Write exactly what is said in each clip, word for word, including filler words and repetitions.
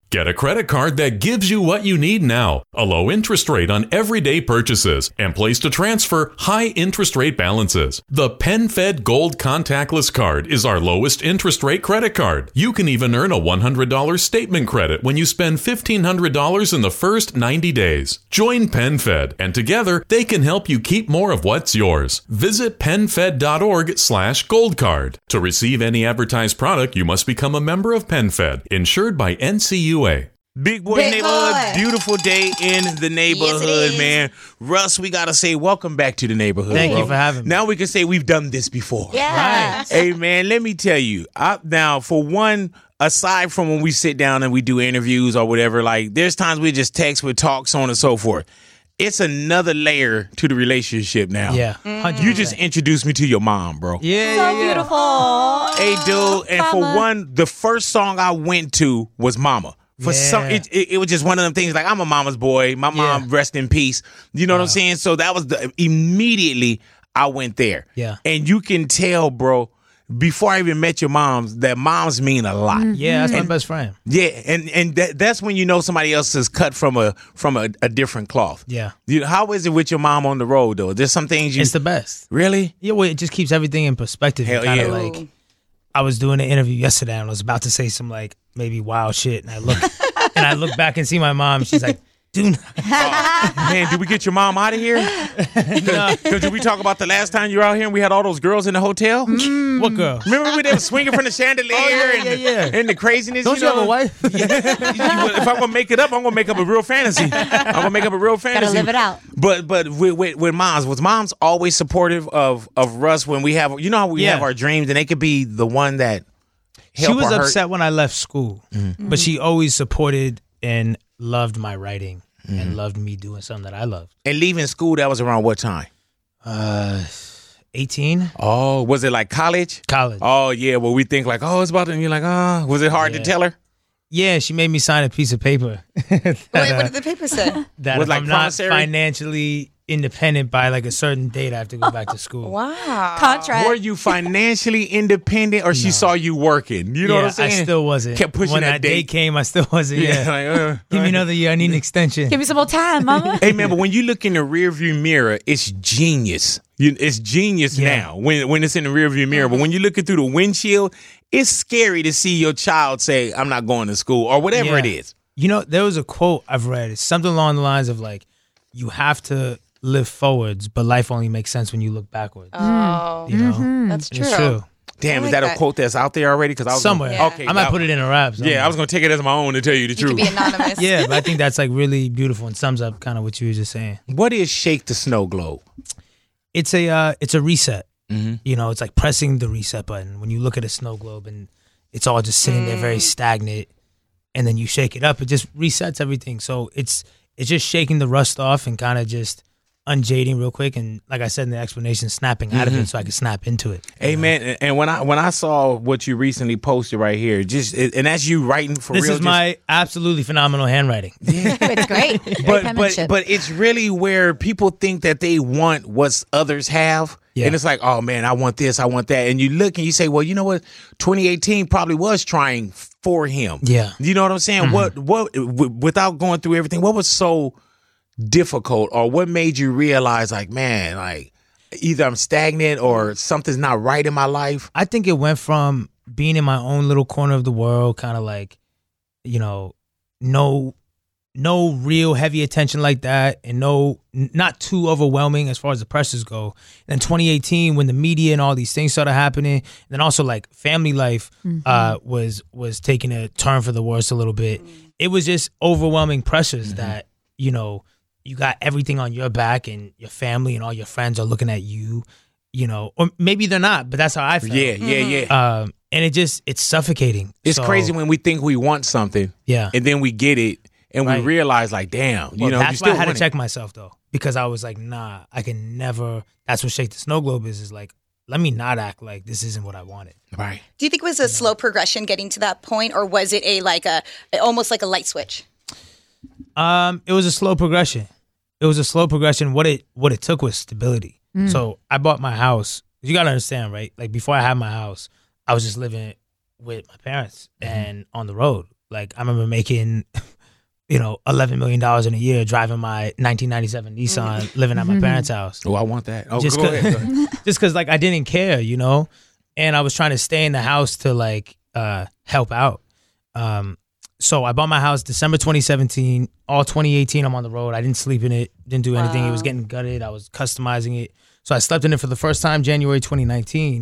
Get a credit card that gives you what you need now, a low interest rate on everyday purchases, and place to transfer high interest rate balances. The PenFed Gold Contactless Card is our lowest interest rate credit card. You can even earn a one hundred dollars statement credit when you spend fifteen hundred dollars in the first ninety days. Join PenFed, and together they can help you keep more of what's yours. Visit PenFed.org slash gold card. To receive any advertised product, you must become a member of PenFed, insured by N C U A. Big Boy Big Neighborhood, boy. beautiful day in the neighborhood, Yes, it is. man. Russ, we got to say welcome back to the neighborhood. Thank bro. you for having me. Now we can say we've done this before. Yeah. Hey, man, let me tell you. I, now, for one, aside from when we sit down and we do interviews or whatever, like there's times we just text with talks, so on and so forth. It's another layer to the relationship now. Yeah. You just introduced me to your mom, bro. Yeah, So yeah, yeah. beautiful. Hey, dude, and for Mama. one, the first song I went to was Mama. For Yeah. some, it, it, it was just one of them things. Like I'm a mama's boy. My mom, Yeah. rest in peace. You know what I'm saying? So that was the immediately I went there. Yeah. and you can tell, bro. Before I even met your moms, that moms mean a lot. Yeah, that's my best friend. Yeah, and and that, that's when you know somebody else is cut from a from a, a different cloth. Yeah. You, how is it with your mom on the road though? There's some things you It's the best. really. Yeah, well, it just keeps everything in perspective. Hell kind of yeah. like, I was doing an interview yesterday and I was about to say some like maybe wild shit, and I look and I look back and see my mom. She's like, "Dude, Man, did we get your mom out of here? Because did we talk about the last time you were out here and we had all those girls in the hotel? what girl? Remember when they were swinging from the chandelier Oh, yeah, and, yeah, yeah. and the craziness? Don't you, know? have a wife? If I'm gonna make it up, I'm gonna make up a real fantasy. I'm gonna make up a real fantasy. live it out. But but with, with, with moms, was moms always supportive of of Russ when we have you know how we Yeah. have our dreams and they could be the one that She help was or hurt? upset when I left school, but she always supported and loved my writing and loved me doing something that I loved. And leaving school, that was around what time? Uh, eighteen, Oh, was it like college? college. Oh yeah, well we think like oh it's about to and you're like ah was it hard to Yeah. tell her? Yeah, she made me sign a piece of paper. that, Wait, uh, what did the paper say? that Was if like I'm not promissory? financially independent by like a certain date, I have to go back to school. Wow. Contract. Were you financially independent or she saw you working? You know yeah, what I'm saying? I still wasn't. Kept pushing when that that date. date came, I still wasn't. Yeah, Yeah. like, uh, Give me another year. I need an extension. Give me some more time, mama. Hey man, but when you look in the rearview mirror, it's genius. You, it's genius Yeah. now when when it's in the rearview mirror. But when you look it through the windshield, it's scary to see your child say, "I'm not going to school" or whatever Yeah. it is. You know, there was a quote I've read. It's something along the lines of like, you have to live forwards, but life only makes sense when you look backwards. Oh, you know, that's And true. it's true. Damn, I is like that, a that. quote that's out there already? Because I was Somewhere. Gonna, okay, I might that- put it in a rap. somewhere. Yeah, I was gonna take it as my own to tell you the You truth. could be anonymous. Yeah, but I think that's like really beautiful and sums up kind of what you were just saying. What is Shake the Snow Globe? It's a uh, it's a reset. Mm-hmm. You know, it's like pressing the reset button when you look at a snow globe and it's all just sitting there very stagnant, and then you shake it up, it just resets everything. So it's it's just shaking the rust off and kind of just unjading real quick, and like I said in the explanation, snapping out of it so I can snap into it. Hey man, and- and when I when I saw what you recently posted right here, just and that's you writing for This real. is just- my absolutely phenomenal handwriting. It's great. Great but but penmanship. but it's really where people think that they want what others have. Yeah. And it's like, oh man, I want this, I want that. And you look and you say, well, you know what? twenty eighteen probably was trying for him. Yeah. You know what I'm saying? What what w- without going through everything, what was so difficult or what made you realize like, man, like either I'm stagnant or something's not right in my life? I think it went from being in my own little corner of the world, kind of like, you know, no, no real heavy attention like that, and no, n- not too overwhelming as far as the pressures go. And then twenty eighteen, when the media and all these things started happening, and then also like family life uh, was was taking a turn for the worse a little bit. It was just overwhelming pressures that, you know, you got everything on your back, and your family and all your friends are looking at you. You know, or maybe they're not, but that's how I felt. Yeah, yeah, yeah. Um, and it just, it's suffocating. It's So, crazy when we think we want something Yeah. and then we get it and Right. we realize like, damn, you Well, know, you that's still why I had to want it. check myself though, because I was like, nah, I can never. That's what Shake the Snow Globe is. Is like, let me not act like this isn't what I wanted. Right. Do you think it was a slow progression getting to that point, or was it a like a almost like a light switch? Um, it was a slow progression. It was a slow progression. What it what it took was stability. So I bought my house. You gotta understand, right? Like before I had my house, I was just living with my parents and on the road. Like I remember making, you know, eleven million dollars in a year driving my nineteen ninety-seven Nissan, living at my parents' house. Oh, I want that. Oh, just go cause, ahead. Go ahead. Just because, like, I didn't care, you know? And I was trying to stay in the house to, like, uh, help out. Um, so I bought my house December twenty seventeen. All twenty eighteen, I'm on the road. I didn't sleep in it, didn't do anything. Wow. It was getting gutted. I was customizing it. So I slept in it for the first time January twenty nineteen.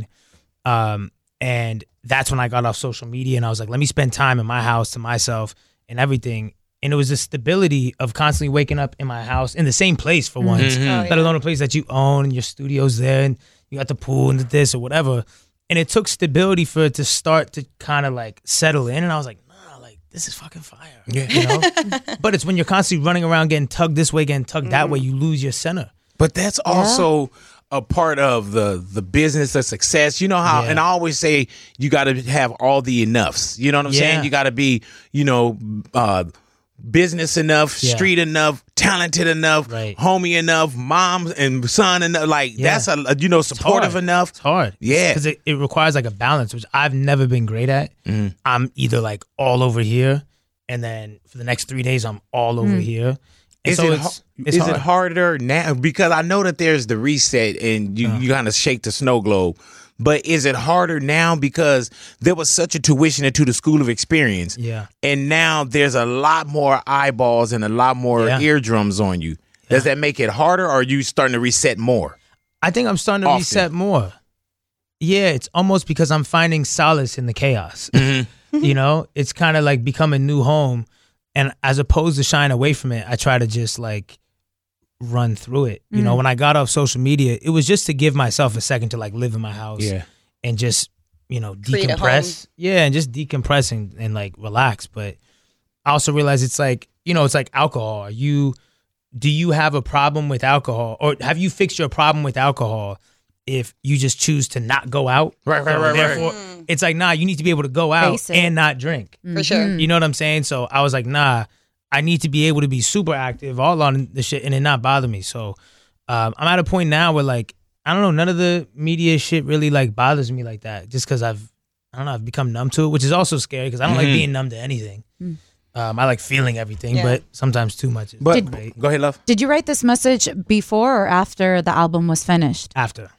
Um, and that's when I got off social media, and I was like, let me spend time in my house to myself and everything. And it was the stability of constantly waking up in my house in the same place for once, Mm-hmm. Oh, let yeah. alone a place that you own and your studio's there and you got the pool and the this or whatever. And it took stability for it to start to kind of like settle in. And I was like, nah, like this is fucking fire. Yeah. You know? But it's when you're constantly running around getting tugged this way, getting tugged that way, you lose your center. But that's also a part of the the business of success. You know how, Yeah. and I always say you got to have all the enoughs. You know what I'm Yeah. saying? You got to be, you know, uh, business enough, Yeah. street enough, talented enough, Right. homie enough, mom and son enough. Like Yeah. that's a, you know, supportive hard. enough. It's hard. Yeah. Because it, it requires like a balance, which I've never been great at. I'm either like all over here, and then for the next three days, I'm all over here. And Is so it it's, har- it's is hard. it harder now? Because I know that there's the reset and you, you kind of shake the snow globe. But is it harder now because there was such a tuition into the school of experience? Yeah. And now there's a lot more eyeballs and a lot more Yeah. eardrums on you. Does that make it harder, or are you starting to reset more? I think I'm starting to Often. reset more. Yeah, it's almost because I'm finding solace in the chaos. Mm-hmm. You know, it's kind of like become a new home. And as opposed to shying away from it, I try to just like run through it. You know, when I got off social media, it was just to give myself a second to like live in my house Yeah. and just, you know, Create a decompress. Yeah, and just decompress and, and like relax. But I also realize it's like, you know, it's like alcohol. Are you, do you have a problem with alcohol, or have you fixed your problem with alcohol if you just choose to not go out? Right, right, So right, right. therefore, it's like, nah, you need to be able to go out Face it. and not drink. For sure. You know what I'm saying? So I was like, nah, I need to be able to be super active all on the shit and it not bother me. So um, I'm at a point now where like, I don't know, none of the media shit really like bothers me like that, just because I've, I don't know, I've become numb to it, which is also scary because I don't like being numb to anything. Um, I like feeling everything, Yeah. but sometimes too much is But great. go ahead, love. Did you write this message before or after the album was finished? After.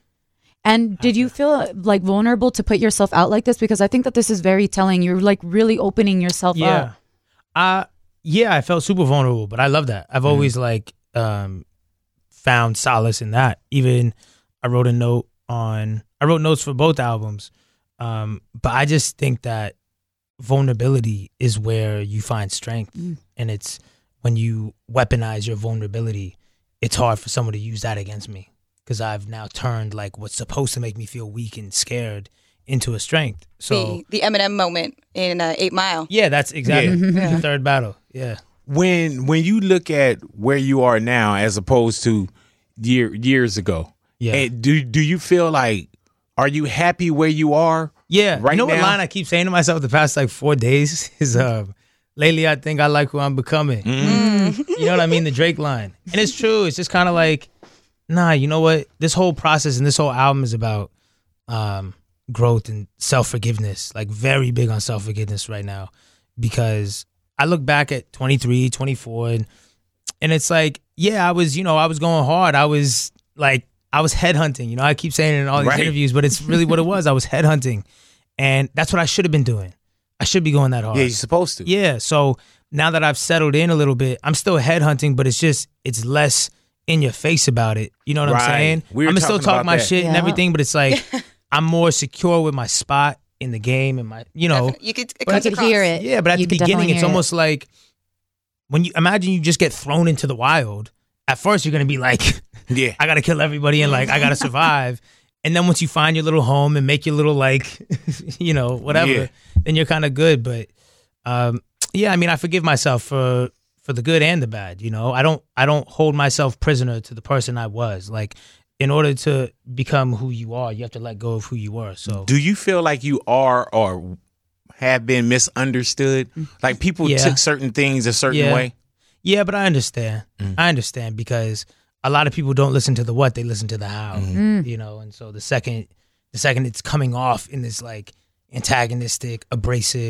And did you feel like vulnerable to put yourself out like this? Because I think that this is very telling. You're like really opening yourself Yeah. up. Uh, yeah, I felt super vulnerable, but I love that. I've always like um, found solace in that. Even I wrote a note on, I wrote notes for both albums. Um, but I just think that vulnerability is where you find strength. And it's when you weaponize your vulnerability, it's hard for someone to use that against me. Because I've now turned like what's supposed to make me feel weak and scared into a strength. So the, the Eminem moment in uh, Eight Mile. yeah, that's exactly the third battle. Yeah. When when you look at where you are now as opposed to year years ago, Yeah. and do do you feel like, are you happy where you are? Yeah. Right you know what now? line I keep saying to myself the past like four days is uh, lately I think I like who I'm becoming. You know what I mean? The Drake line. And it's true. It's just kind of like, nah, you know what? This whole process and this whole album is about um, growth and self-forgiveness. Like very big on self-forgiveness right now. Because I look back at twenty-three, twenty-four and and it's like, yeah, I was, you know, I was going hard. I was like, I was headhunting. You know, I keep saying it in all these Right. interviews, but it's really what it was. I was headhunting. And that's what I should have been doing. I should be going that hard. Yeah, you're supposed to. Yeah. So now that I've settled in a little bit, I'm still headhunting, but it's just, it's less in your face about it. You know what Right. I'm saying? We were I'm gonna still talking talk about my that. shit and Yeah. everything, but it's like, I'm more secure with my spot in the game and my, you know. Definitely. You could, it But comes you could across. hear it. Yeah, but at You the could beginning, definitely it's hear it. almost like when you imagine you just get thrown into the wild. At first, you're gonna be like, Yeah. I gotta kill everybody and like I gotta survive. And then once you find your little home and make your little like, you know, whatever, Yeah. then you're kind of good. But um, yeah, I mean, I forgive myself for for the good and the bad. You know, I don't I don't hold myself prisoner to the person I was. Like, in order to become who you are, you have to let go of who you were. So Do you feel like you are or have been misunderstood? Like people Yeah. took certain things a certain Yeah. way? yeah, but I understand. Mm. I understand because a lot of people don't listen to the what, they listen to the how. Mm-hmm. You know, and so the second the second it's coming off in this like antagonistic, abrasive,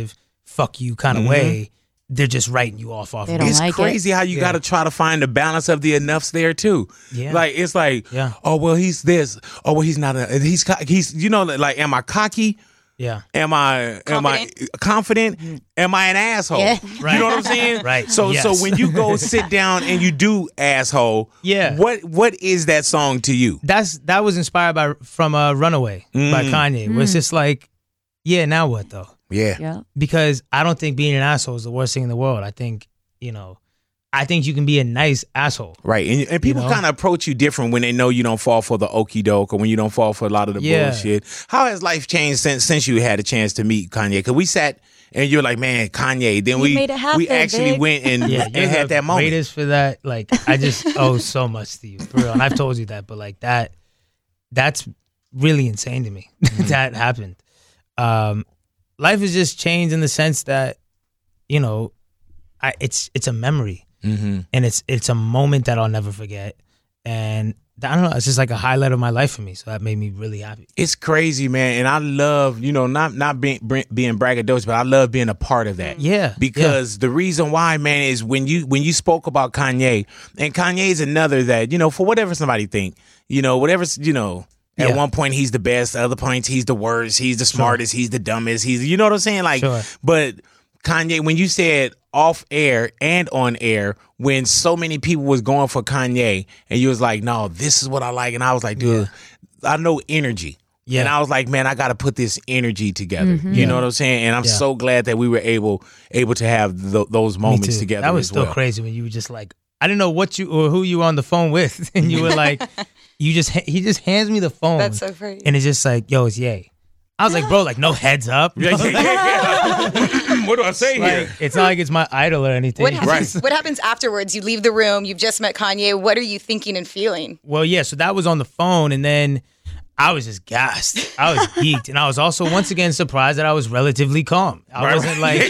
fuck you kind of Mhm. way, they're just writing you off off. They of don't it. It's like crazy how you Yeah. got to try to find the balance of the enoughs there too. Yeah. Like it's like, Yeah. oh well, he's this. Oh well, he's not. A, he's co- he's you know like, am I cocky? Yeah. Am I am I confident? Am I an asshole? Yeah. Right. You know what I'm saying? Right. So Yes. so when you go sit down and you do asshole, Yeah. What what is that song to you? That's that was inspired by from uh, Runaway by Mm. Kanye. Where it's just like, yeah, now what though? Yeah. Yeah. Because I don't think being an asshole is the worst thing in the world. I think, you know, I think you can be a nice asshole. Right. And, and people know? kind of approach you different when they know you don't fall for the okie doke or when you don't fall for a lot of the Yeah. bullshit. How has life changed since since you had a chance to meet Kanye? Because we sat and you're like, man, Kanye. Then You we made it happen, we actually big. went and, Yeah, and you're had the that moment. greatest for that. Like, I just owe so much to you, for real. And I've told you that, but like that, that's really insane to me. That happened. Um, life has just changed in the sense that, you know, I, it's it's a memory. Mm-hmm. And it's it's a moment that I'll never forget. And I don't know, it's just like a highlight of my life for me. So that made me really happy. It's crazy, man, and I love, you know, not not being being braggadocious, but I love being a part of that. Yeah, because the reason why, man, is when you when you spoke about Kanye, and Kanye is another that, you know, for whatever somebody think, you know, whatever, you know. At Yeah. one point, he's the best. At other points, he's the worst. He's the smartest. He's the dumbest. He's, you know what I'm saying? Like, Sure. but Kanye, when you said off air and on air, when so many people was going for Kanye, and you was like, no, this is what I like. And I was like, dude, I know energy. Yeah. And I was like, man, I got to put this energy together. You know what I'm saying? And I'm Yeah. so glad that we were able able to have th- those Me moments too. together That was as still well. crazy when you were just like, I didn't know what you or who you were on the phone with, and you were like, you just he just hands me the phone. That's so crazy. And it's just like, yo, it's Ye. I was like, bro, like no heads up. Yeah, yeah, yeah, yeah. What do I say Like, here? it's not like it's my idol or anything. What happens, what happens afterwards? You leave the room, you've just met Kanye. What are you thinking and feeling? Well, yeah, so that was on the phone, and then I was just gassed. I was geeked, and I was also once again surprised that I was relatively calm. I wasn't like,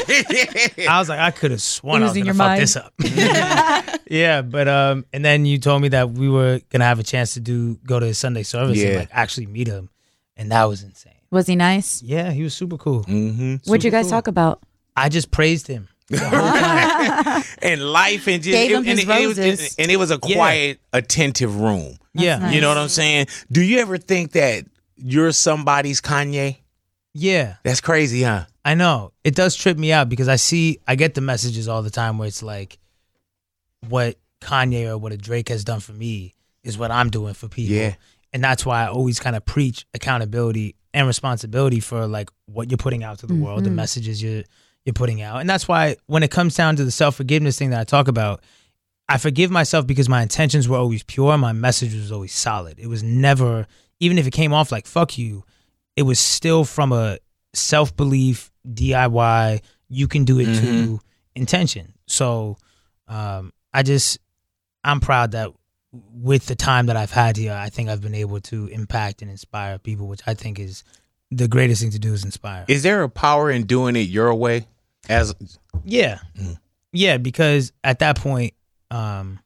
I was like, I could have sworn I was Losing gonna your fuck mind. this up. Yeah, but um, and then you told me that we were gonna have a chance to do go to his Sunday service and Yeah. like actually meet him, and that was insane. Was he nice? Yeah, he was super cool. Mm-hmm. What'd you guys cool. talk about? I just praised him. And life and just Gave it- him and, his it, it was, roses. and it was a Yeah. quiet, attentive room. Yeah, nice. You know what I'm saying? Do you ever think that you're somebody's Kanye? yeah. That's crazy, huh? I know. It does trip me out because I see, I get the messages all the time where it's like, what Kanye or what a Drake has done for me is what I'm doing for people. Yeah. And that's why I always kind of preach accountability and responsibility for like what you're putting out to the world, the messages you're you're putting out. And that's why when it comes down to the self-forgiveness thing that I talk about, I forgive myself because my intentions were always pure. My message was always solid. It was never, even if it came off like fuck you, it was still from a self-belief, D I Y, you can do it too intention. So um, I just, I'm proud that with the time that I've had here, I think I've been able to impact and inspire people, which I think is the greatest thing to do is inspire. Is there a power in doing it your way? As Yeah. Yeah, because at that point, um,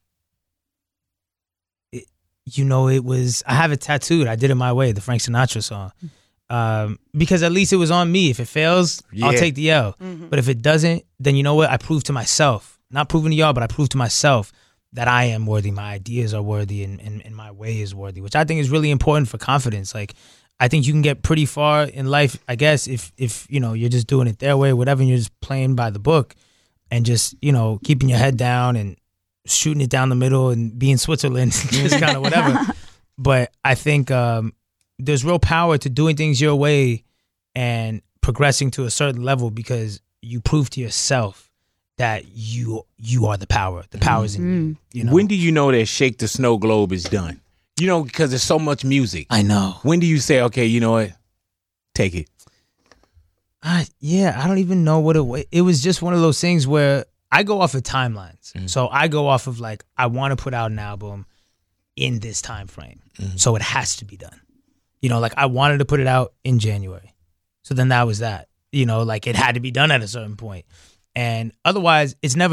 it, you know, it was, I have it tattooed. I did it my way, the Frank Sinatra song. Um, because at least it was on me. If it fails, I'll Yeah. take the L. But if it doesn't, then you know what? I prove to myself, not proving to y'all, but I prove to myself that I am worthy. My ideas are worthy and, and, and my way is worthy, which I think is really important for confidence. Like, I think you can get pretty far in life, I guess, if, if you know, you're just doing it their way, whatever, and you're just playing by the book and just, you know, keeping your head down and shooting it down the middle and being Switzerland, just kind of whatever. But I think um, there's real power to doing things your way and progressing to a certain level because you prove to yourself that you you are the power. The power's in you. You know? when do you know that Shake the Snow Globe is done? You know, because there's so much music. I know. When do you say, okay, you know what? Take it. I, yeah, I don't even know what it was. It was just one of those things where I go off of timelines. So I go off of like, I want to put out an album in this time frame. So it has to be done. You know, like I wanted to put it out in January. So then that was that. You know, like it had to be done at a certain point. And otherwise, it's never done.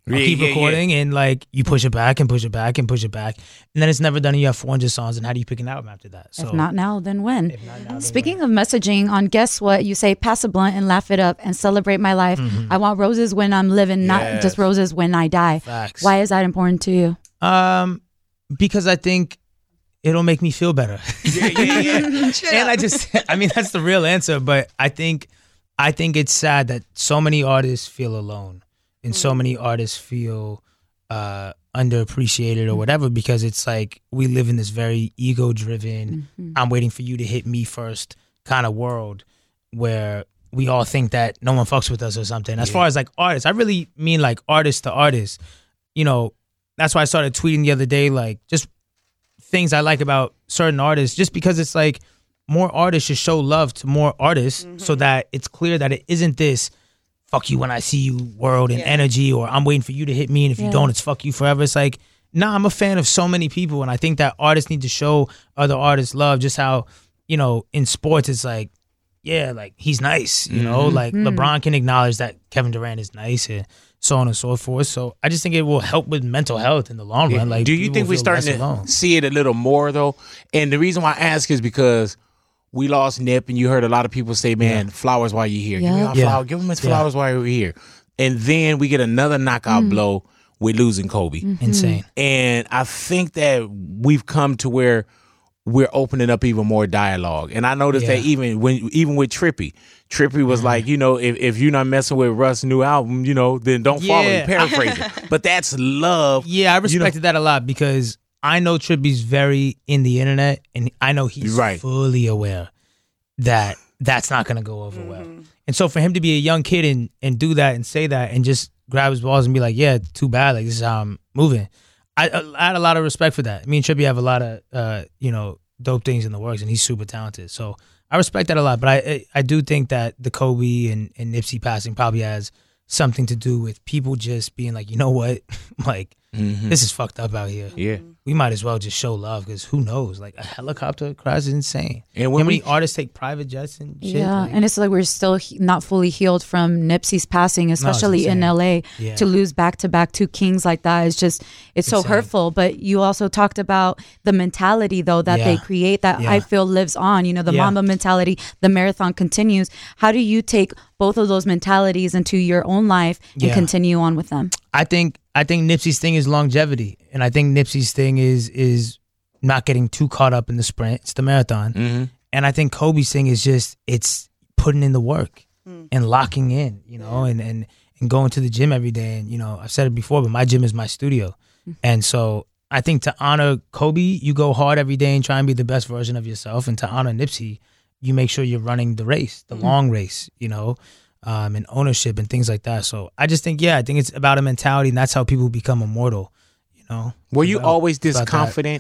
I'll Yeah, keep yeah, recording, and like you push it back and push it back and push it back, and then it's never done. And you have four hundred songs, and how do you pick an album after that? So If not now, then when? if not now, then Speaking of messaging, on Guess What, you say, pass a blunt and laugh it up and celebrate my life. Mm-hmm. I want roses when I'm living, not Yes. just roses when I die. Facts. Why is that important to you? Um, because I think it'll make me feel better. Yeah, yeah, yeah. and I just, I mean, that's the real answer. But I think, I think it's sad that so many artists feel alone, and so many artists feel uh, underappreciated or whatever, because it's like we live in this very ego-driven, I'm waiting for you to hit me first kind of world, where we all think that no one fucks with us or something. As far as like artists, I really mean like artist to artist. You know, that's why I started tweeting the other day, like just things I like about certain artists, just because it's like more artists should show love to more artists, so that it's clear that it isn't this fuck you when I see you world and Yeah. energy, or I'm waiting for you to hit me, and if Yeah. you don't, it's fuck you forever. It's like, nah, I'm a fan of so many people, and I think that artists need to show other artists love, just how, you know, in sports it's like, yeah, like he's nice, you know, like LeBron can acknowledge that Kevin Durant is nice, and so on and so forth. So I just think it will help with mental health in the long run. Like, Do you people think will we're feel starting less to alone. see it a little more though? And the reason why I ask is because we lost Nip, and you heard a lot of people say, "Man, flowers while you're here. Give me Yeah. our Yeah. flower. Give him his Yeah. flowers while you're here." And then we get another knockout blow with losing Kobe. Insane. And I think that we've come to where we're opening up even more dialogue. And I noticed that Yeah. even when even with Trippy, Trippy was like, you know, if, if you're not messing with Russ' new album, you know, then don't follow Yeah. him. Paraphrasing. But that's love. Yeah, I You know- respected that a lot, because I know Trippy's very in the internet, and I know he's Right. fully aware that that's not going to go over well. And so for him to be a young kid and, and do that and say that and just grab his balls and be like, yeah, too bad. Like, this is how I'm moving. I, I had a lot of respect for that. Me and Trippy have a lot of, uh, you know, dope things in the works, and he's super talented. So I respect that a lot. But I I, I do think that the Kobe and, and Nipsey passing probably has something to do with people just being like, you know what? like, this is fucked up out here. Yeah. We might as well just show love, because who knows? Like, a helicopter crash is insane. And when How many we- artists take private jets and shit? Yeah, Like, and it's like we're still he- not fully healed from Nipsey's passing, especially in insane. L A. Yeah. To lose back to back two kings like that is just, it's so Insane. hurtful. But you also talked about the mentality, though, that they Yeah. create that Yeah. I feel lives on. You know, the Yeah. Mamba mentality, the marathon continues. How do you take both of those mentalities into your own life and Yeah. continue on with them? I think I think Nipsey's thing is longevity, and I think Nipsey's thing is is not getting too caught up in the sprint. It's the marathon, Mm-hmm. and I think Kobe's thing is just it's putting in the work and locking in, you know, and and and going to the gym every day. And you know, I've said it before, but my gym is my studio, and so I think to honor Kobe, you go hard every day and try and be the best version of yourself, and to honor Nipsey, you make sure you're running the race, the long race, you know. Um, and ownership and things like that. So I just think, yeah, I think it's about a mentality, and that's how people become immortal. You know. Were you About- always this about that. confident?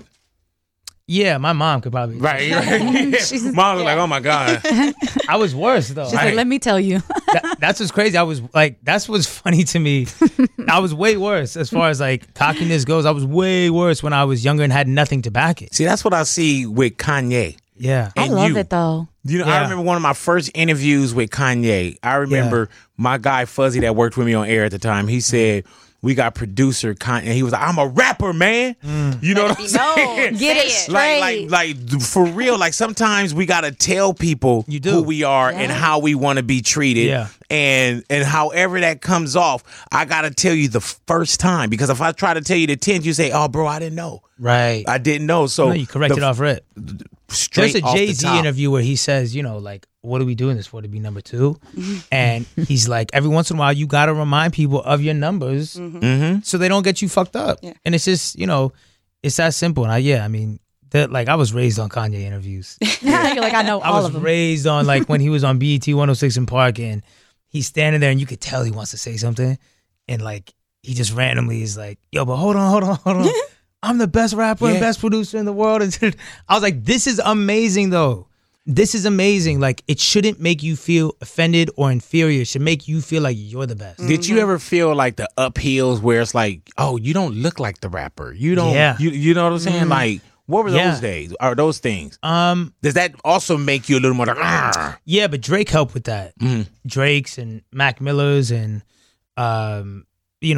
Yeah, my mom could probably. Right, right. Mom was like, "Oh my god." I was worse though. She's like, let me tell you. That- that's what's crazy. I was like, that's what's funny to me. I was way worse as far as like cockiness goes. I was way worse when I was younger and had nothing to back it. See, that's what I see with Kanye. Yeah. I And love you. it, though. You know, I Yeah. remember one of my first interviews with Kanye. I remember my guy Fuzzy that worked with me on air at the time. He said, "We got producer Kanye." He was like, "I'm a rapper, man." You know what I'm saying? No, Get it say straight. Like, like, like, for real. Like, sometimes we gotta tell people You do. who we are and how we want to be treated. Yeah. And and however that comes off, I gotta tell you the first time, because if I try to tell you the tenth, you say, "Oh, bro, I didn't know. Right. I didn't know." So no, you corrected the- off rip. straight There's a off the Jay Z top. interview where he says, you know, like, what are we doing this for? To be number two? And he's like, every once in a while, you got to remind people of your numbers Mm-hmm. so they don't get you fucked up. Yeah. And it's just, you know, it's that simple. And I, yeah, I mean, that, like, I was raised on Kanye interviews. You're like, I know I all was of them. raised on, like, when he was on B E T one oh six in Park, and he's standing there and you could tell he wants to say something. And, like, he just randomly is like, yo, but hold on, hold on, hold on. I'm the best rapper Yeah. and best producer in the world. And I was like, this is amazing, though. This is amazing. Like, it shouldn't make you feel offended or inferior. It should make you feel like you're the best. Did you ever feel like the uphills where it's like, oh, you don't look like the rapper. You don't. Yeah. You, you know what I'm saying? Like, what were Yeah. those days or those things? Um, Does that also make you a little more like, "Argh"? yeah, but Drake helped with that. Mhm. Drake's and Mac Miller's and, um, you know,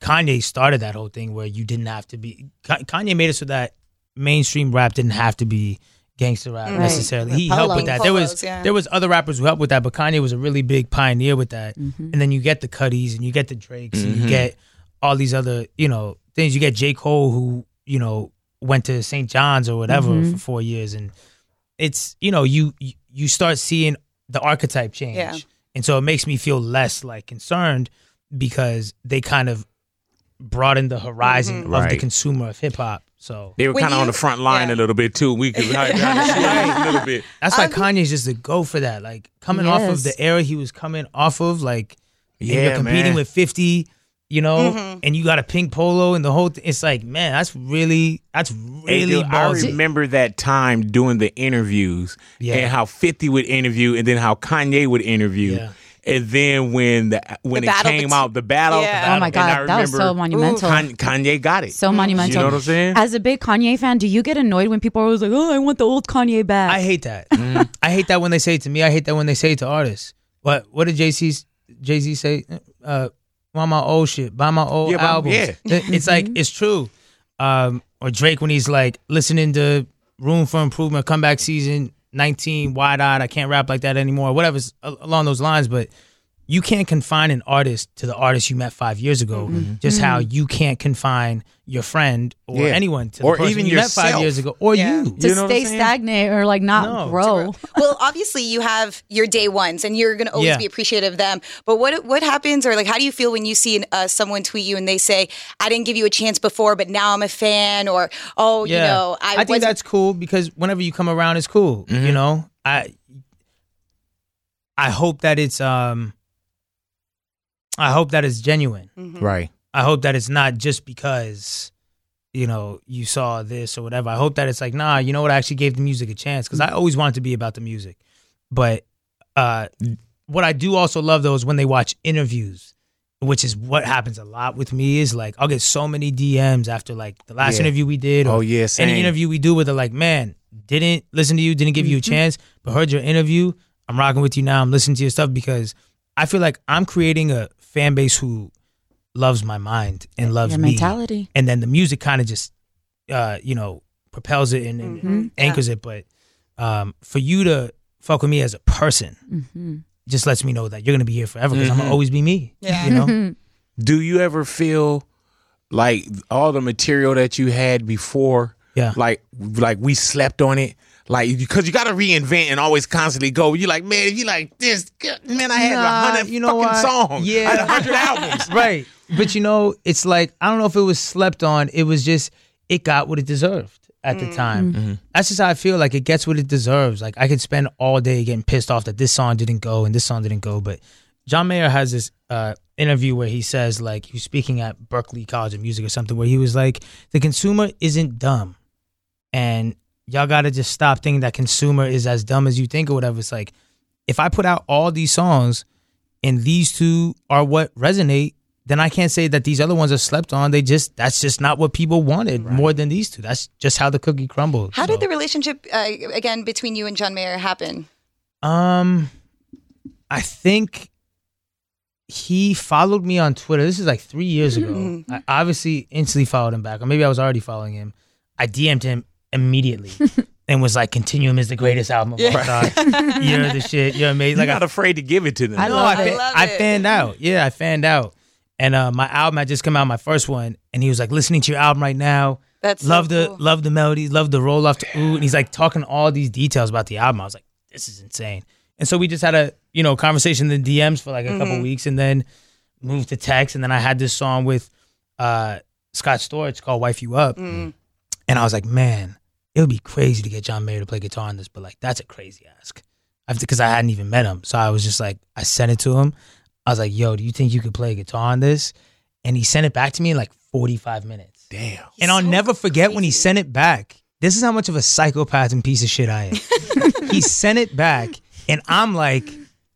Kanye started that whole thing where you didn't have to be. Kanye made it so that mainstream rap didn't have to be gangster rap Right. necessarily. He Polo. helped with that. There was Polos, yeah. there was other rappers who helped with that, but Kanye was a really big pioneer with that. Mm-hmm. And then you get the Cuddies and you get the Drakes and Mm-hmm. you get all these other, you know, things. You get J. Cole who, you know, went to Saint John's or whatever Mm-hmm. for four years. And it's, you know, you you start seeing the archetype change. Yeah. And so it makes me feel less like concerned because they kind of broaden the horizon of the Right. consumer of hip hop. So They were When kind of on you- the front line yeah. a little bit too. We could hide behind the scenes a little bit. that's why Um, Kanye's just a go for that. Like coming off of Yes. the era he was coming off of, like and Yeah, you're competing man. with fifty, you know, Mm-hmm. and you got a pink polo and the whole thing. It's like, man, that's really that's Hey, really dude, I ballsy. remember that time doing the interviews Yeah. and how fifty would interview and then how Kanye would interview. Yeah. And then when the when The it battle came bet- out, the battle. Yeah. Oh my and I God, that was so remember monumental. Kan- Kanye got it. So monumental. You know what I'm saying? As a big Kanye fan, do you get annoyed when people are always like, "Oh, I want the old Kanye back"? I hate that. Mm-hmm. I hate that when they say it to me. I hate that when they say it to artists. What what did Jay Z Jay Z say? Uh, buy my old shit, buy my old Yeah, buy- albums. yeah. It- It's like it's true. Um, or Drake when he's like listening to Room for Improvement, Comeback Season nineteen, Wide Eyed. I can't rap like that anymore. Whatever along those lines, but. You can't confine an artist to the artist you met five years ago. Just how you can't confine your friend or Yeah. anyone to the Or person even you met five yourself. years ago, or Yeah. you. to You know what I'm stay saying? stagnant or like not No. grow. Well, obviously you have your day ones, and you're going to always Yeah. be appreciative of them. But what what happens, or like, how do you feel when you see uh, someone tweet you and they say, "I didn't give you a chance before, but now I'm a fan," or "Oh, you know, I, I think wasn't-" that's cool because whenever you come around, it's cool. Mm-hmm. You know, I I hope that it's um I hope that it's genuine. Right. I hope that it's not just because you know you saw this or whatever. I hope that it's like, nah, you know what? I actually gave the music a chance because I always wanted to be about the music. But uh, what I do also love though is when they watch interviews, which is what happens a lot with me. Is like I'll get so many D Ms after like the last Yeah. interview we did. Or Oh, yeah, same. any interview we do with it, like, man, didn't listen to you, didn't give you a chance, but heard your interview. I'm rocking with you now. I'm listening to your stuff because I feel like I'm creating a fan base who loves my mind and loves Your me. mentality. And then the music kind of just, uh, you know, propels it and, and Mhm. anchors it. But um, for you to fuck with me as a person Mm-hmm. just lets me know that you're gonna be here forever because I'm Mhm. gonna always be me. Yeah. You know. Do you ever feel like all the material that you had before, Yeah. like like we slept on it? Like, because you got to reinvent and always constantly go. You like, man, if you like this, man, I had a Nah, hundred you know fucking what? songs. Yeah. I had a hundred albums. Right. But you know, it's like I don't know if it was slept on. It was just it got what it deserved at the time. That's just how I feel. Like it gets what it deserves. Like I could spend all day getting pissed off that this song didn't go and this song didn't go. But John Mayer has this uh, interview where he says, like, he was speaking at Berklee College of Music or something, where he was like, the consumer isn't dumb. And y'all got to just stop thinking that consumer is as dumb as you think or whatever. It's like, if I put out all these songs and these two are what resonate, then I can't say that these other ones are slept on. They just, that's just not what people wanted more than these two. That's just how the cookie crumbled. How So, did the relationship uh, again between you and John Mayer happen? Um, I think he followed me on Twitter. This is like three years ago. I obviously instantly followed him back, or maybe I was already following him. I D M'd him immediately and was like, "Continuum is the greatest album of all time. You're the shit. You're amazing." You're Like, not afraid to give it to them. I know. love I, it. fa- love I it. fanned out. Yeah, I fanned out. And uh, my album had just come out, my first one, and he was like, "Listening to your album right now. That's so love the cool. love the melodies, love the roll off to ooh." And he's like talking all these details about the album. I was like, "This is insane." And so we just had a you know conversation in the D Ms for like a Mm-hmm. couple weeks, and then moved to text. And then I had this song with uh, Scott Storch called "Wife You Up," Mm. and I was like, "Man, it would be crazy to get John Mayer to play guitar on this, but like that's a crazy ask." Because I hadn't even met him, so I was just like, I sent it to him. I was like, "Yo, do you think you could play guitar on this?" And he sent it back to me in like forty-five minutes. Damn. And I'll so never forget when he crazy. sent it back. This is how much of a psychopath and piece of shit I am. He sent it back, and I'm like,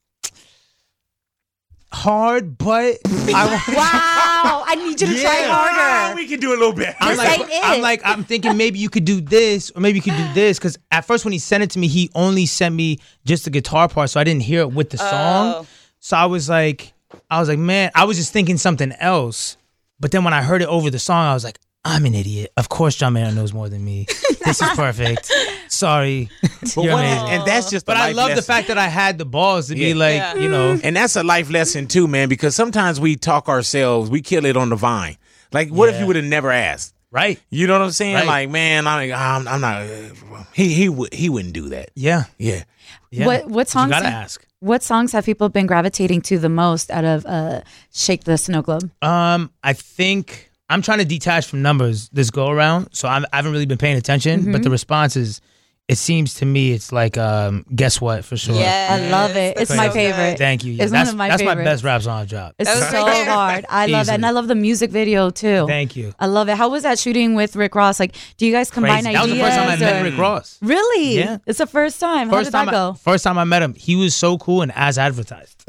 hard, but I, Wow, I need you to try Yeah. Ah, harder. we can do a little bit. I'm This like, ain't it. I'm like, I'm thinking maybe you could do this, or maybe you could do this. Because at first, when he sent it to me, he only sent me just the guitar part, so I didn't hear it with the song. Oh. So I was like, I was like, man, I was just thinking something else. But then when I heard it over the song, I was like, I'm an idiot. Of course John Mayer knows more than me. This is perfect. Sorry. But You're what- amazing. and that's just. But a I life love the lesson. fact that I had the balls to be Yeah. like, Yeah. you know. And that's a life lesson too, man. Because sometimes we talk ourselves, we kill it on the vine. Like, what if Yeah. you would have never asked? Right. You know what I'm saying? Right. Like, man, I'm, I'm, I'm not. He, he, would, he wouldn't do that. Yeah. Yeah. Yeah. What what songs? You gotta have- ask. What songs have people been gravitating to the most out of uh, "Shake the Snow Globe"? Um, I think I'm trying to detach from numbers this go around, so I'm, I haven't really been paying attention. Mm-hmm. But the responses, it seems to me, it's like, um, guess what, for sure. Yes, I love it. It's that's my so favorite. good. Thank you. Yeah, It's one that's of my that's my favorites. best rap song I've dropped. It's That was so right there. hard. I love it, and I love the music video too. Thank you. I love it. How was that shooting with Rick Ross? Like, do you guys combine Crazy. That was ideas? the first time I met or- Rick Ross. Really? Yeah. It's the first time. How First did that time, go? I, first time I met him, he was so cool and as advertised.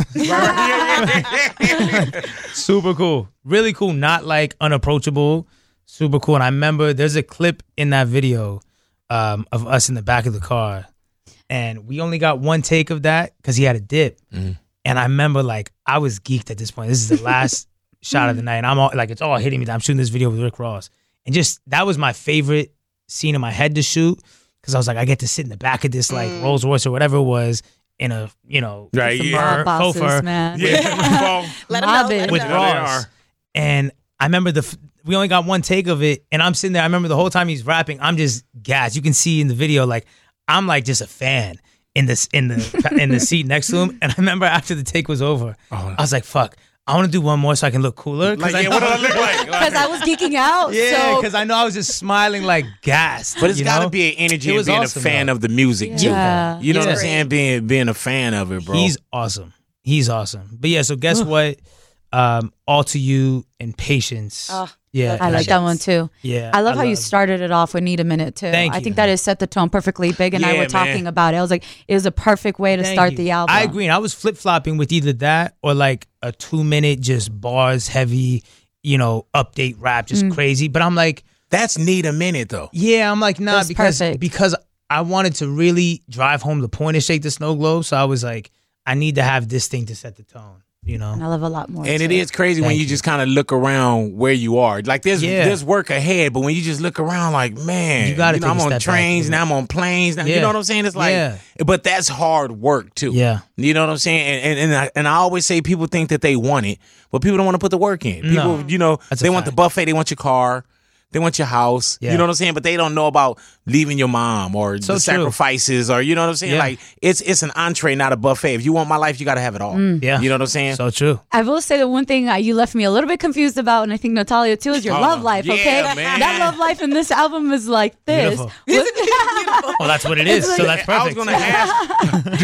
Super cool, really cool, not like unapproachable, super cool. And I remember there's a clip in that video um, of us in the back of the car, and we only got one take of that because he had a dip. Mm-hmm. And I remember like I was geeked at this point. This is the last shot of the night, and I'm all like, it's all hitting me. I'm shooting this video with Rick Ross, and just that was my favorite scene in my head to shoot because I was like, I get to sit in the back of this like Rolls Royce or whatever it was in a you know Right, Some yeah. mob bosses, faux fur man. Yeah. Let 'em Mob know, it. let 'em with know. There they Ross. are. And I remember the f- we only got one take of it, and I'm sitting there. I remember the whole time he's rapping, I'm just gassed. You can see in the video, like I'm like just a fan in this in the in the seat next to him. And I remember after the take was over, I was like, "Fuck, I want to do one more so I can look cooler." Like, I yeah, know, what do I look like? Because I was geeking out. yeah, so because I know I was just smiling like gassed. But it's you got to know? be an energy It of was being awesome, a fan though. of the music too. Yeah. You know what I'm Yeah. saying? Being being a fan of it, bro. He's awesome. He's awesome. But yeah, so guess what? Um, All to You and Patience. Oh, yeah, I like that one too. Yeah, I love how you love- started it off with "Need a Minute" too. Thank I you. think that has set the tone perfectly. Big and I Yeah, were talking man. about it. I was like, it was a perfect way to Thank start you. the album. I agree. And I was flip flopping with either that or like a two minute just bars heavy, you know, update rap, just Mm. crazy. But I'm like, That's need a minute though. yeah, I'm like, nah, That's because perfect. because I wanted to really drive home the point of Shake the Snow Globe. So I was like, I need to have this thing to set the tone, you know? And I love a lot more. And it too. is crazy when Thank you you. just kind of look around where you are. Like there's Yeah. there's work ahead, but when you just look around, like man, You gotta know, take I'm a on step back, trains yeah. now. I'm on planes now. You Yeah. know what I'm saying? It's like, Yeah. but that's hard work too. Yeah. You know what I'm saying? And and and I, and I always say people think that they want it, but people don't want to put the work in. People, No. you know, That's a they want the fact. buffet, they want your car. They want your house. Yeah. You know what I'm saying? But they don't know about leaving your mom or So the true. sacrifices or you know what I'm saying? Yeah. Like it's it's an entree, not a buffet. If you want my life, you got to have it all. Yeah. You know what I'm saying? So true. I will say the one thing uh, you left me a little bit confused about, and I think Natalia too, is your Oh, love life. yeah, Okay, man. that love life in this album is like this. Beautiful. What- Well, that's what it is. So that's I was perfect. gonna ask. do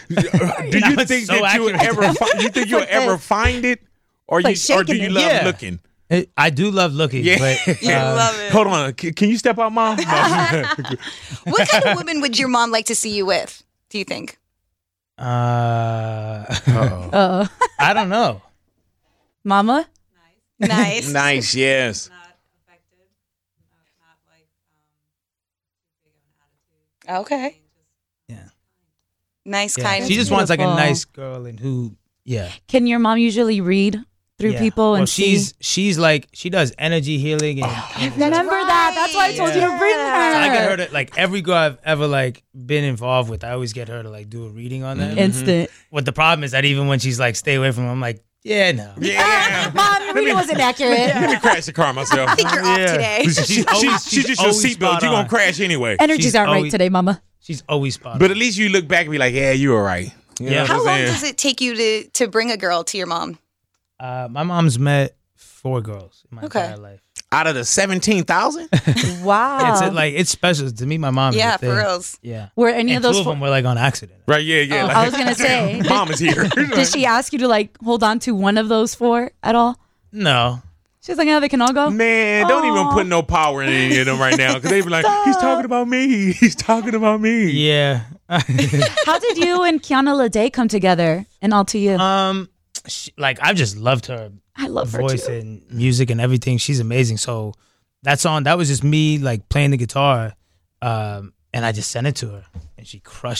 you That was think so that you would accurate. ever? Fi- you think you'll like ever this. find it, or Like you, or do shaking you it. love Yeah. looking? It- I do love looking, Yeah. but You um, love it. Hold on, C- can you step out, mom? No. What kind of woman would your mom like to see you with? Do you think? uh, uh, I don't know. Mama, Nice. Nice, yes. Okay. Yeah. Nice, Yeah. kind. She just wants like a beautiful. nice girl and who, yeah. can your mom usually read through Yeah. people and well, see? she's she's like she does energy healing and, and Remember that? That's why I told you to bring her. so I get her to like every girl I've ever like been involved with. I always get her to like do a reading on them. Instant. What the problem is that even when she's like stay away from him, I'm like yeah no. Yeah. Mom, your reading wasn't accurate. Let me crash the car myself. I think you're off Yeah. today. She, she, always- she she's just your always seatbelt. spot You're gonna on. crash anyway. Energies She's aren't right always- today, Mama. She's always spot. But at least you look back and be like, yeah, you were right. You know Yeah. what How I'm long saying? does it take you to to bring a girl to your mom? uh, my mom's met four girls in my Okay. entire life. Out of the seventeen thousand? Wow. It's like it's special to me. My mom. is Yeah, a for thing. reals. Yeah. Were any And of those two of fo- them were like on accident. Right, yeah, yeah. Oh, like, I was gonna say. Mom is here. Did she ask you to like hold on to one of those four at all? No. She's like, yeah, they can all go. Man, don't even Aw. put no power in any of them right now because they be like, he's talking about me. He's talking about me. Yeah. How did you and Kiana Lede come together and all to you? um, she, like I've just loved her I love her voice too. and music and everything. She's amazing. So that song, that was just me like playing the guitar, um, and I just sent it to her, and she crushed it.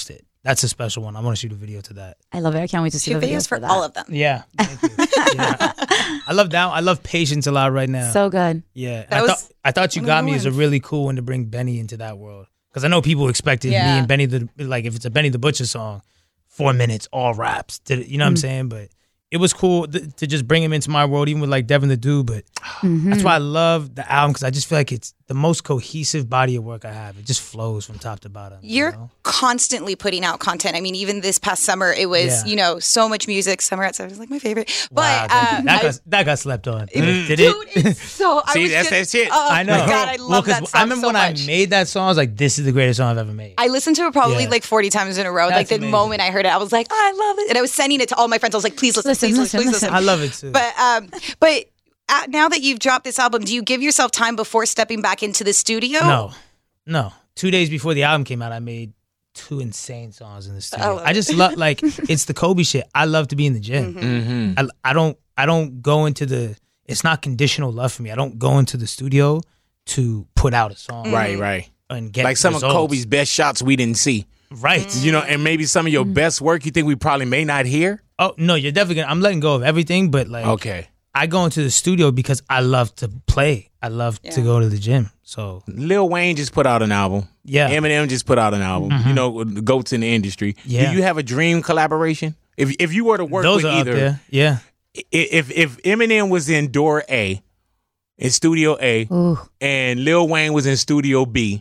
that's a special one. I want to shoot a video to that. I love it. I can't wait to see Two the videos for that. all of them. Yeah, thank you. yeah. I love that. I love Patience a lot right now. So good. Yeah, That I was thought I thought you one of got the me is a ones. really cool one to bring Benny into that world because I know people expected Yeah. me and Benny the like if it's a Benny the Butcher song, four minutes all raps. Did it, you know what I'm saying? But it was cool th- to just bring him into my world, even with like Devin the Dude. But that's why I love the album because I just feel like it's the most cohesive body of work I have. It just flows from top to bottom. you You're know? constantly putting out content. I mean, even this past summer, it was, Yeah. you know, so much music. Summer at Seven was like my favorite. But Wow, thank uh, you. that, I- got, that got slept on. it- Did dude, it? it's so. I See, was that's just, that shit. Oh I know. my God, I Well, love 'cause that song I remember so when much. I made that song, I was like, "This is the greatest song I've ever made." I listened to it probably Yeah. like forty times in a row. That's like the amazing. moment I heard it, I was like, oh, I love it. And I was sending it to all my friends. I was like, please listen, Listen, please listen, listen, please listen. listen. I love it too. But um, but uh, now that you've dropped this album, do you give yourself time before stepping back into the studio? No, no. Two days before the album came out, I made two insane songs in the I studio. love I, just love like it's the Kobe shit. I love to be in the gym. Mm-hmm. I, I don't I don't go into the. It's not conditional love for me. I don't go into the studio to put out a song Right, right. and get Like some results. of Kobe's best shots we didn't see. Right. You know, and maybe some of your best work you think we probably may not hear. Oh no, you're definitely gonna. I'm letting go of everything, but like Okay. I go into the studio because I love to play. I love to Yeah. go to the gym. So Lil Wayne just put out an album. yeah, Eminem just put out an album. You know, the goats in the industry. Yeah. Do you have a dream collaboration? If if you were to work those with are either, up there. Yeah. i- if if Eminem was in door A, in studio A, Ooh. and Lil Wayne was in studio B,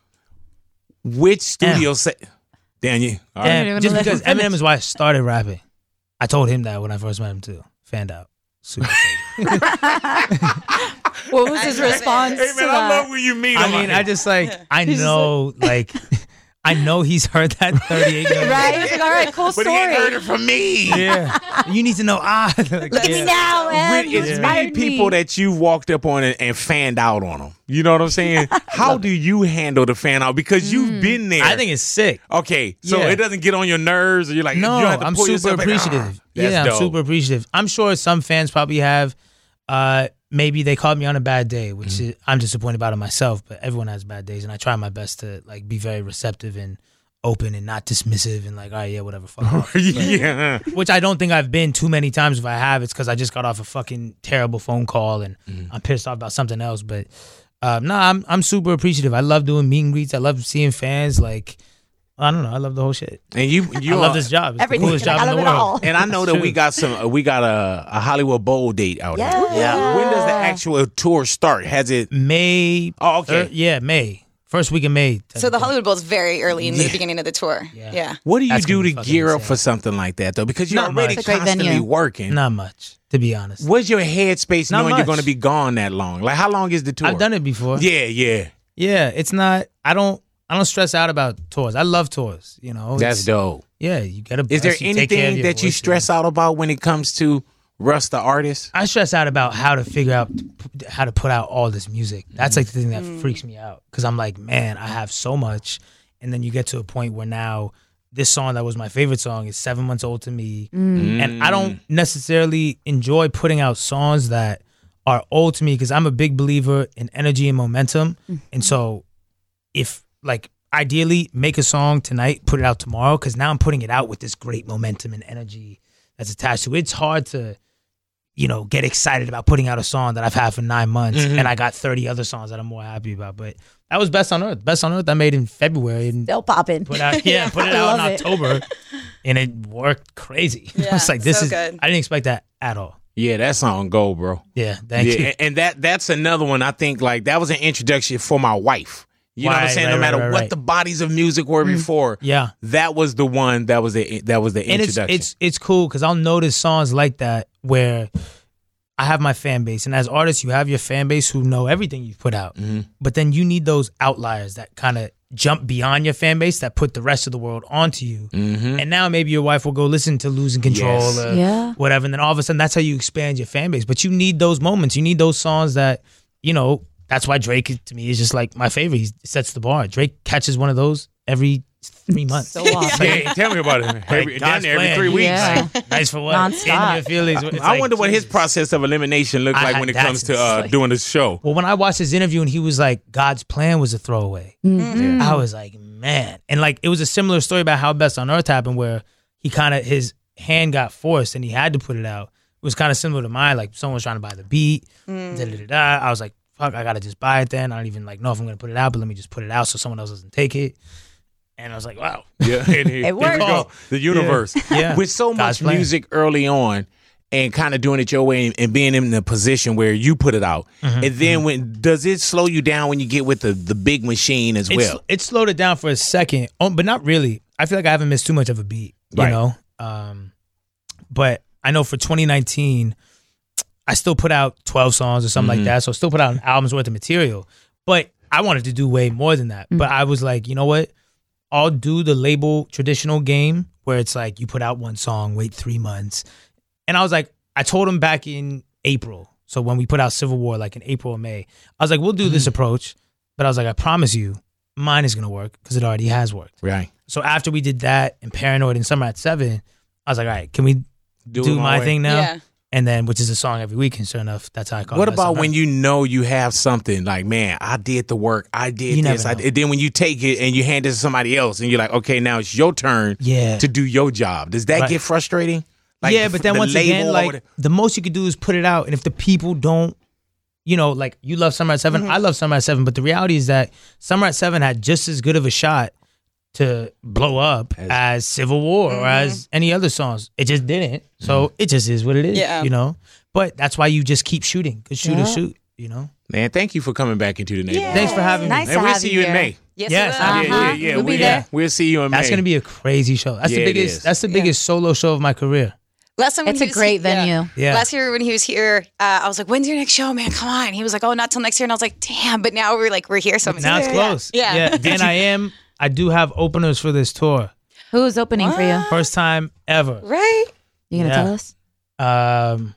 which studio set? Damn you! All right. Damn. even And just let him because Eminem is why I started rapping. I told him that when I first met him too. Fanned out. Super crazy. What was his response Hey to man, I that? love when you meet him. I mean, I just like I He's just know like I know he's heard that thirty-eight million. Right? He's like, all right, cool but he ain't heard story. it from me. Yeah. You need to know ah like, Look at me now, When man. You it's many inspired people me. that you've walked up on and, and fanned out on them. You know what I'm saying? How do you handle the fan out? Because you've been there. I think it's sick. Okay, so Yeah. it doesn't get on your nerves, or you're like, No, you have to I'm pull super yourself back. appreciative. Ah, that's yeah, I'm dope. super appreciative. I'm sure some fans probably have. Uh, maybe they called me on a bad day, which Mm-hmm. is, I'm disappointed about it myself. But everyone has bad days, and I try my best to like be very receptive and open and not dismissive and like, all right, yeah, whatever, fuck off. yeah. Which I don't think I've been too many times. If I have, it's because I just got off a fucking terrible phone call and Mm-hmm. I'm pissed off about something else. But um, no, I'm I'm super appreciative. I love doing meet and greets. I love seeing fans. Like, I don't know, I love the whole shit. And you, you I love are- this job. It's Everything. the coolest job I in love the it world. all. And I know that we got some. uh, We got a, a Hollywood Bowl date out Yeah. here. Yeah. When does the actual tour start? Has it? May. Oh, okay. uh, yeah, May. First week of May. So the Hollywood Bowl is very early in the Yeah. beginning of the tour. Yeah. Yeah. What do you That's do gonna to be fucking gear up insane. for something like that though? Because you're Not already much. It's a great constantly venue. working. Not much, to be honest. What's your headspace Not knowing you're much. going to be gone that long? Like, how long is the tour? I've done it before. Yeah, yeah. Yeah, it's not. I don't. I don't stress out about tours. I love tours. You know, That's It's- dope. Yeah, you get a. Is there you take care of anything your that you voice. stress out about when it comes to Russ the artist? I stress out about how to figure out how to put out all this music. That's like the thing that freaks me out because I'm like, man, I have so much, and then you get to a point where now this song that was my favorite song is seven months old to me, and I don't necessarily enjoy putting out songs that are old to me because I'm a big believer in energy and momentum, and so if like ideally make a song tonight, put it out tomorrow because now I'm putting it out with this great momentum and energy that's attached to it. It's hard to, you know, get excited about putting out a song that I've had for nine months and I got thirty other songs that I'm more happy about. But that was Best on Earth. Best on Earth I made in February and Still popping. put out yeah, put it I out in love it. October and it worked crazy. Yeah, It's like this so is good. I didn't expect that at all. Yeah, that song go, bro. Yeah, thank yeah, you. and- and that that's another one. I think like that was an introduction for my wife. You know what I'm Right, saying? right, no matter right, right, what right. the bodies of music were before, Yeah. that was the one that was the that was the And it's introduction. it's it's cool because I'll notice songs like that where I have my fan base, and as artists, you have your fan base who know everything you've put out. Mm-hmm. But then you need those outliers that kind of jump beyond your fan base that put the rest of the world onto you. Mm-hmm. And now maybe your wife will go listen to Losing Control Yes. or Yeah. whatever, and then all of a sudden that's how you expand your fan base. But you need those moments. You need those songs that you know. That's why Drake to me is just like my favorite. He sets the bar. Drake catches one of those every three months. So awesome. yeah, tell me about it. Every, down God's there every plan. three weeks. Yeah. Like, nice for what? Nonstop. In your feelings. It's I like, wonder what his Jesus. process of elimination looked I like had- when it that's comes to uh, insane. doing the show. Well, when I watched his interview and he was like, God's plan was a throwaway, Mm-hmm. I was like, man. man. And like it was a similar story about how Best on Earth happened, where he kind of his hand got forced and he had to put it out. It was kind of similar to mine. Like someone was trying to buy the beat. Mm. Da, da, da, da. I was like, fuck, I gotta just buy it then. I don't even like know if I'm gonna put it out, but let me just put it out so someone else doesn't take it. And I was like, wow. Yeah, and here, it worked. Here we go. The universe. Yeah. Yeah. With so God's much plan. music early on and kind of doing it your way and, and being in the position where you put it out. Mm-hmm. And then when does it slow you down when you get with the, the big machine as It's, well? it slowed it down for a second, oh, but not really. I feel like I haven't missed too much of a beat, you Right. know? Um, but I know for twenty nineteen, I still put out twelve songs or something Mm-hmm. like that. So I still put out an album's worth of material. But I wanted to do way more than that. But I was like, you know what? I'll do the label traditional game where it's like you put out one song, wait three months. And I was like, I told him back in April. So when we put out Civil War, like in April or May, I was like, we'll do this approach. But I was like, I promise you, mine is going to work because it already has worked. Right. So after we did that and Paranoid and Summer at Seven, I was like, all right, can we do, Do it my way. thing now? Yeah. And then, which is a song every week, and sure enough, that's how I call it. What Best about on when Earth. you know you have something like, man, I did the work, I did You never this, I know. did. Then when you take it and you hand it to somebody else, and you're like, okay, now it's your turn Yeah. to do your job. Does that Right. get frustrating? Like yeah, the- but then the once label again, or like whatever? the most you could do is put it out, and if the people don't, you know, like you love Summer at 7 Mm-hmm. I love Summer at Seven, but the reality is that Summer at Seven had just as good of a shot to blow up as, As- Civil War Mm-hmm. or as any other songs. It just didn't, so Mm-hmm. it just is what it is. Yeah. You know, but that's why you just keep shooting, because shoot Yeah. or shoot. You know. Man, thank you for coming back into the neighborhood. Thanks for having Nice me. to And we'll have see you you in here. May. Yes, Yes, we will. I- Yeah, yeah, yeah. We'll be we, there. We'll see you in May. That's gonna be a crazy show. That's Yeah, the it biggest. is. That's the biggest solo show of my career. Last time when It's he a was great he- yeah. venue. Yeah. Last year when he was here, uh, I was like, "When's your next show, man? Come on." He was like, "Oh, not till next year." And I was like, "Damn!" But now we're like, we're here, so I'm Now it's excited. close. Yeah. and I am. I do have openers for this tour. Who's opening for you? First time ever. Right? You gonna Yeah. tell us? Um,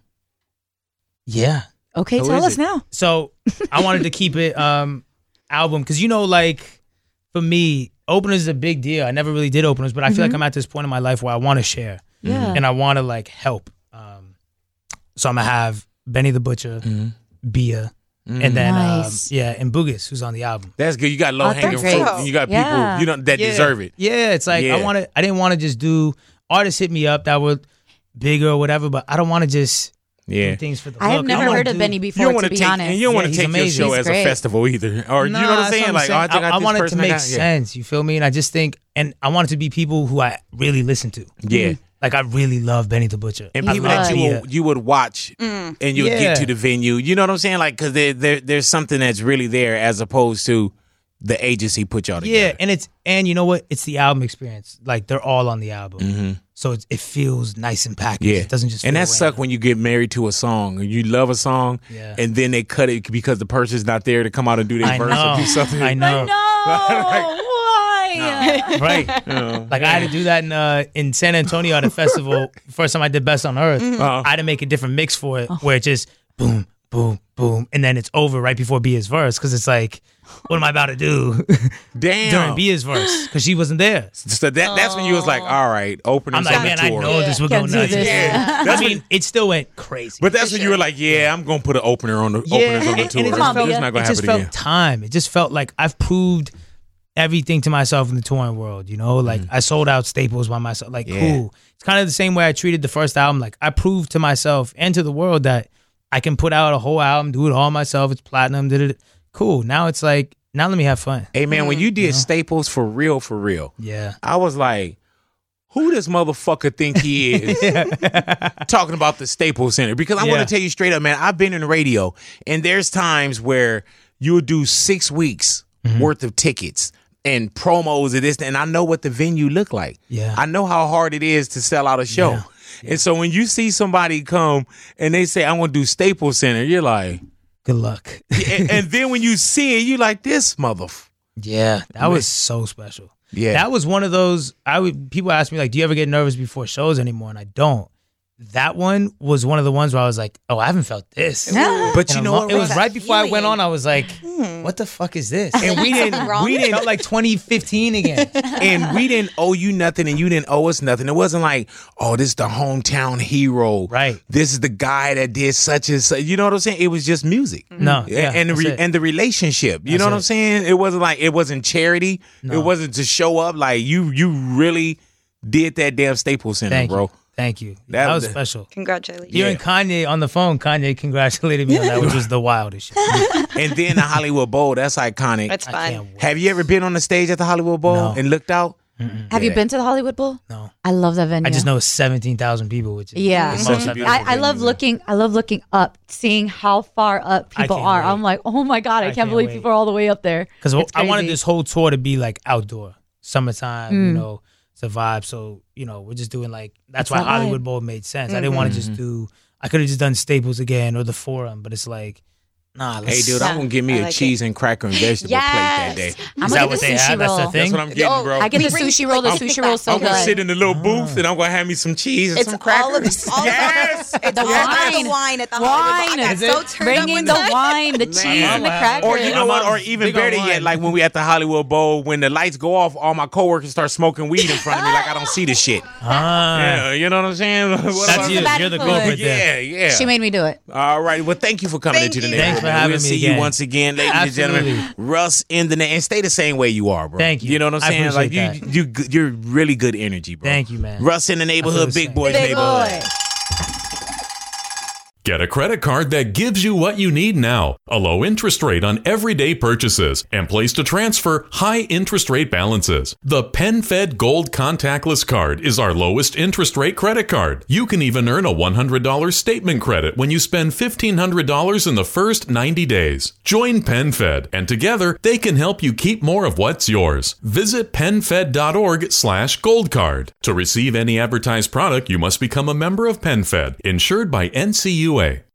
yeah. Okay, Who tell is us it? now. So I wanted to keep it um album because you know, like for me, openers is a big deal. I never really did openers, but I feel like I'm at this point in my life where I want to share Yeah. and I want to like help. Um, so I'm gonna have Benny the Butcher, Bia, and then Nice. um, yeah, and Boogus, who's on the album. That's good. You got low hanging that's fruit. great. and You got Yeah. people you know that Yeah. deserve it. Yeah, it's like I Yeah. want to. I didn't want to just do artists hit me up that were bigger or whatever, but I don't want to just Yeah. do things for the I have look. never wanna heard of do- Benny You before, don't to want to be take honest. and you don't want Yeah, to he's take your amazing. show He's as great. a festival either, or Nah, you know what I'm that's saying? Like, oh, I, think I, I, got I this want it to person I make got- yeah. sense. You feel me? And I just think, and I want it to be people who I really listen to. Yeah. Like I really love Benny the Butcher. And I people love that you Bia. would, you would watch and you would Yeah. get to the venue. You know what I'm saying? Like, because there, there, there's something that's really there as opposed to the agency put y'all together. Yeah, and it's and you know what? It's the album experience. Like they're all on the album, so it's, it feels nice and packaged. Yeah, It doesn't just. and feel that suck random. when you get married to a song and you love a song, Yeah. and then they cut it because the person's not there to come out and do their I verse or do know. something. I know. No, why? Right. Like I had to do that in uh, in San Antonio at a festival. First time I did Best on Earth. Uh-huh. I had to make a different mix for it where it just boom, boom, boom, and then it's over right before Bia's verse because it's like, what am I about to do Damn. during Bia's verse because she wasn't there. So that that's when you was like, all right, opening I'm like, on the man, I tour. know this will go Can't do nuts. this. Yeah. I mean, it still went crazy. But that's when you were like, yeah, I'm gonna put an opener on the Yeah, openers on the and- tour. and it It's just felt, not gonna it just happen felt again. time. It just felt like I've proved everything to myself in the touring world. You know, like I sold out Staples by myself. Like, Yeah. cool. It's kind of the same way I treated the first album. Like, I proved to myself and to the world that I can put out a whole album, do it all myself. It's platinum. Did it? Cool. Now it's like, now let me have fun. Hey man, when you did Staples for real, for real, Yeah. I was like, who does motherfucker think he is talking about the Staples Center? Because I Yeah. want to tell you straight up, man, I've been in the radio, and there's times where you'll do six weeks Mm-hmm. worth of tickets and promos of this, and I know what the venue look like. Yeah. I know how hard it is to sell out a show. Yeah. And so when you see somebody come and they say, I'm going to do Staples Center, you're like, Good luck. and, and then when you see it, you're like, this mother. Yeah. That was so special. Yeah. That was one of those. I would people ask me like, "Do you ever get nervous before shows anymore?" And I don't. that one was one of the ones where I was like, oh, I haven't felt this. But you In a know lo- what? it was that right before I went feeling? on. I was like, what the fuck is this? And we didn't, wrong? we It didn't, felt like twenty fifteen again. and we didn't owe you nothing, and you didn't owe us nothing. It wasn't like, oh, this is the hometown hero, Right. This is the guy that did such and such. You know what I'm saying? It was just music. No, yeah, and the that's re- it. and the relationship. You That's know what it. I'm saying? It wasn't like it wasn't charity. No. It wasn't to show up. Like you, you really did that damn Staples Center, Thank bro. you. Thank you. That That, was was the- special. Congratulations. You Yeah. and Kanye on the phone. Kanye congratulated me on that, which was the wildest shit. And then the Hollywood Bowl. That's iconic. That's I fun. can't wait. Have you ever been on the stage at the Hollywood Bowl No. and looked out? Have you Yeah. been to the Hollywood Bowl? No. I love that venue. I just know it's seventeen thousand people, which is Yeah. the It's most such a I've beautiful ever I, I been. love looking. I love looking up, seeing how far up I people can't are. wait. I'm like, oh my god, I, I can't, can't believe wait. people are all the way up there. Because It's I wanted crazy. this whole tour to be like outdoor, summertime, Mm. you know, it's a vibe. So, you know, we're just doing like, that's It's why that Hollywood vibe. Bowl made sense. I didn't want to just do, I could have just done Staples again or the Forum, but it's like, nah, let's Hey, dude, I'm gonna give me I a like cheese and cracker and vegetable plate that day. Yes. I'm Is gonna that get what the they sushi have? That's roll. the thing? That's what I'm getting, Oh, bro. I get the We bring- sushi roll. The like, sushi pick roll that is so I'm gonna sit good. in the little booth and I'm gonna have me some cheese and It's some all crackers. of this. All yes. of it's The all about wine. the wine at the Wine. Hollywood Bowl. I Is got so it? turned Bring up in one the time. wine, the cheese, and the Man. crackers. Or you know I'm what? on- Or even big on better yet, wine. like when we at the Hollywood Bowl, when the lights go off, all my coworkers start smoking weed in front of me, like I don't see the shit. Ah, Yeah, you know what I'm saying? What that's about- you. bad You're the influence. culprit there. Yeah, yeah. She made me do it. All right. Well, thank you for coming Thank into the you. neighborhood. Thanks for man. having we'll me see you again. once again, ladies and gentlemen. Absolutely. Russ in the name, and stay the same way you are, bro. Thank you. You know what I'm I saying? Like you, appreciate you, you, you're really good energy, bro. Thank you, man. Russ in the neighborhood, the big same. boys Big neighborhood. boy. Get a credit card that gives you what you need now. A low interest rate on everyday purchases and place to transfer high interest rate balances. The PenFed Gold Contactless Card is our lowest interest rate credit card. You can even earn a one hundred dollars statement credit when you spend fifteen hundred dollars in the first ninety days. Join PenFed, and together they can help you keep more of what's yours. Visit penfed.org slash goldcard. To receive any advertised product, you must become a member of PenFed, insured by N C U A.